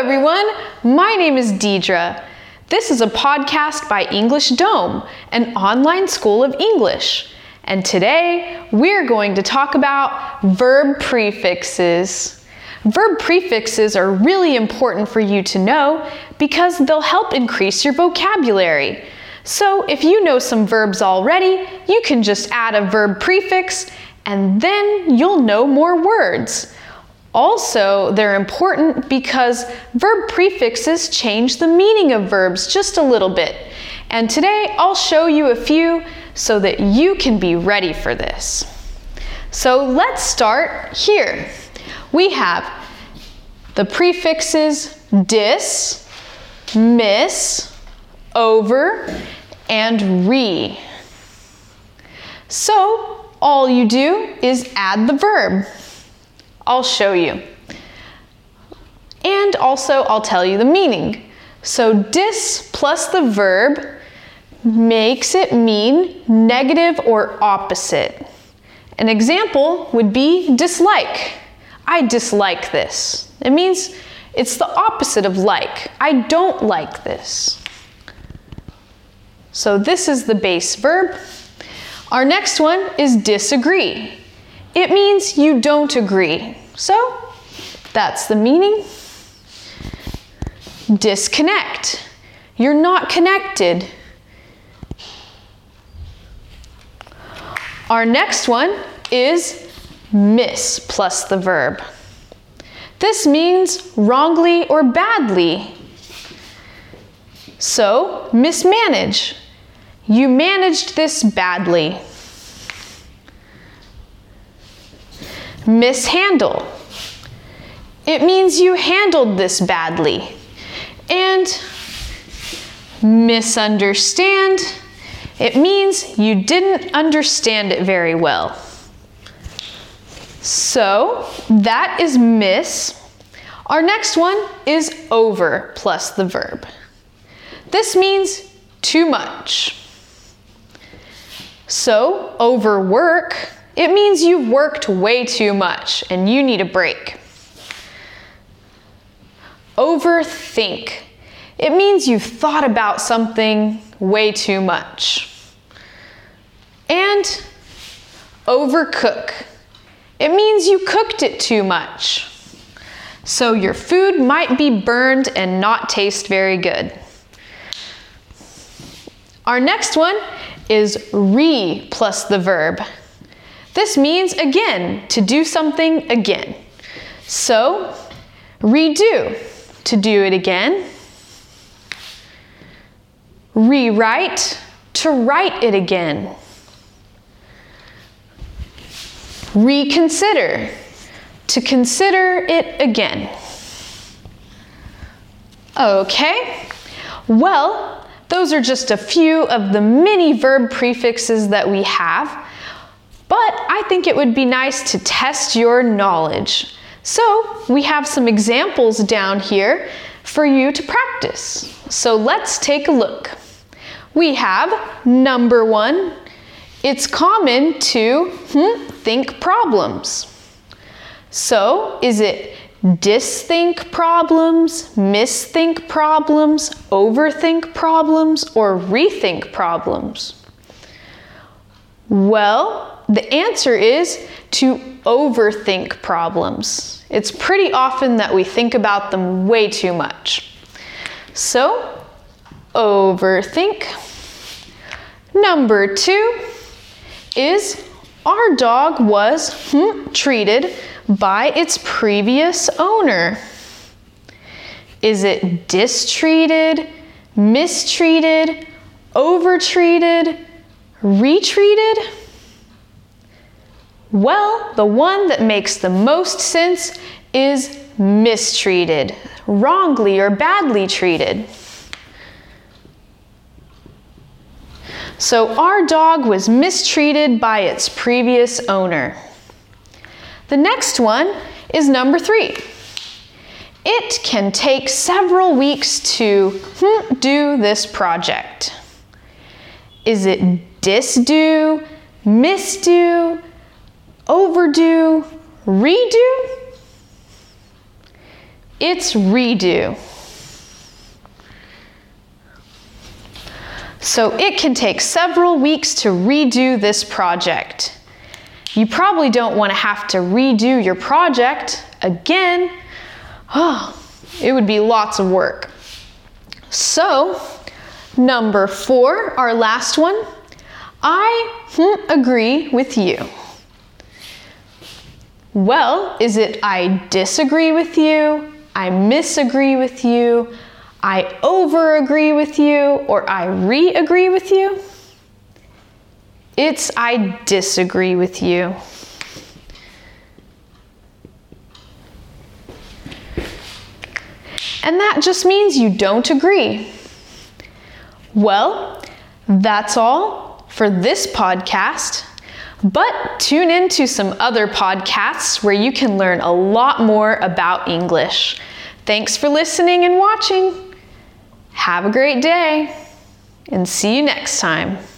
everyone, my name is Deidre. This is a podcast by English Dome, an online school of English. And today, we're going to talk about verb prefixes. Verb prefixes are really important for you to know because they'll help increase your vocabulary. So if you know some verbs already, you can just add a verb prefix and then you'll know more words. Also, they're important because verb prefixes change the meaning of verbs just a little bit. And today I'll show you a few so that you can be ready for this. So let's start here. We have the prefixes dis, miss, over, and re. So all you do is add the verb. I'll show you. And also I'll tell you the meaning. So dis plus the verb makes it mean negative or opposite. An example would be dislike. I dislike this. It means it's the opposite of like. I don't like this. So this is the base verb. Our next one is disagree. It means you don't agree. So that's the meaning. Disconnect. You're not connected. Our next one is miss plus the verb. This means wrongly or badly. So mismanage. You managed this badly. Mishandle. It means you handled this badly. And misunderstand. It means you didn't understand it very well. So that is miss. Our next one is over plus the verb. This means too much. So overwork. It means you've worked way too much and you need a break. Overthink. It means you've thought about something way too much. And overcook. It means you cooked it too much. So your food might be burned and not taste very good. Our next one is re plus the verb. This means, again, to do something again. So, redo, to do it again. Rewrite, to write it again. Reconsider, to consider it again. Okay, well, those are just a few of the many verb prefixes that we have. But I think it would be nice to test your knowledge. So we have some examples down here for you to practice. So let's take a look. We have number 1. It's common to think problems. So is it disthink problems, misthink problems, overthink problems, or rethink problems? Well, the answer is to overthink problems. It's pretty often that we think about them way too much. So, overthink. Number 2 is our dog was treated by its previous owner. Is it distreated, mistreated, overtreated, retreated? Well, the one that makes the most sense is mistreated, wrongly or badly treated. So our dog was mistreated by its previous owner. The next one is number 3. It can take several weeks to do this project. Is it disdo, misdo, overdue, redo? It's redo. So it can take several weeks to redo this project. You probably don't want to have to redo your project again. Oh, it would be lots of work. So, number 4, our last one. I agree with you. Well, is it I disagree with you, I misagree with you, I over-agree with you, or I re-agree with you? It's I disagree with you. And that just means you don't agree. Well, that's all for this podcast. But tune in to some other podcasts where you can learn a lot more about English. Thanks for listening and watching. Have a great day, and see you next time.